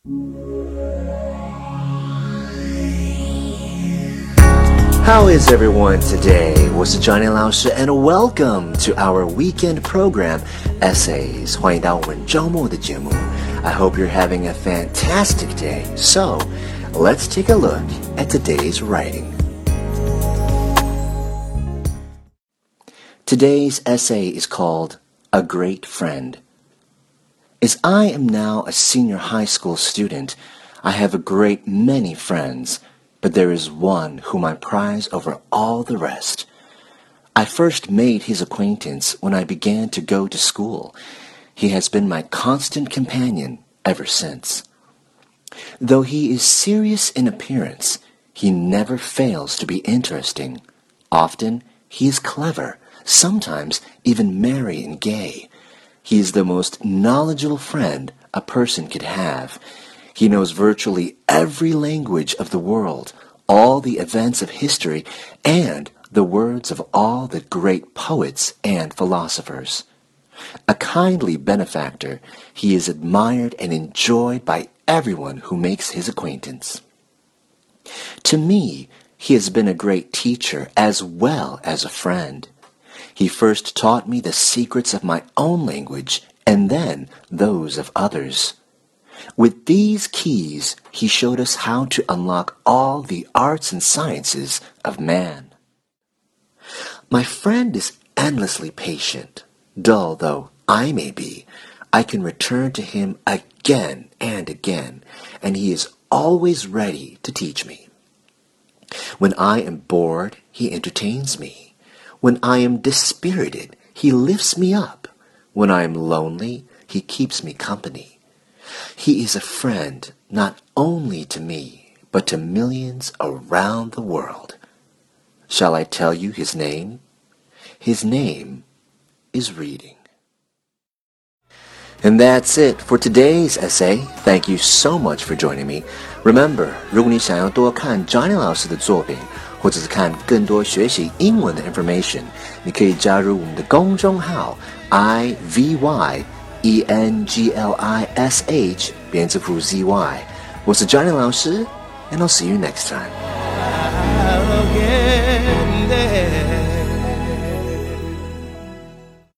How is everyone today? 我是 Johnny 老师 and welcome to our weekend program, Essays. 欢迎到我们周末的节目。I hope you're having a fantastic day. So, let's take a look at today's writing. Today's essay is called A Great Friend. As I am now a senior high school student, I have a great many friends.But there is one whom I prize over all the rest. I first made his acquaintance when I began to go to school. He has been my constant companion ever since. Though he is serious in appearance, he never fails to be interesting. Often he is clever, sometimes even merry and gay. He is the most knowledgeable friend a person could have.He knows virtually every language of the world, all the events of history, and the words of all the great poets and philosophers. A kindly benefactor, he is admired and enjoyed by everyone who makes his acquaintance. To me, he has been a great teacher as well as a friend. He first taught me the secrets of my own language, and then those of others.With these keys, he showed us how to unlock all the arts and sciences of man. My friend is endlessly patient. Dull though I may be, I can return to him again and again, and he is always ready to teach me. When I am bored, he entertains me. When I am dispirited, he lifts me up. When I am lonely, he keeps me company.He is a friend not only to me, but to millions around the world. Shall I tell you his name? His name is reading. And that's it for today's essay. Thank you so much for joining me. Remember, 如果你想要多看 Johnny 老师的作品，或者是看更多学习英文的 information， 你可以加入我们的公众号 IVY.ENGLISH 编字符 ZY 我是 Johnny 老师 and I'll see you next time.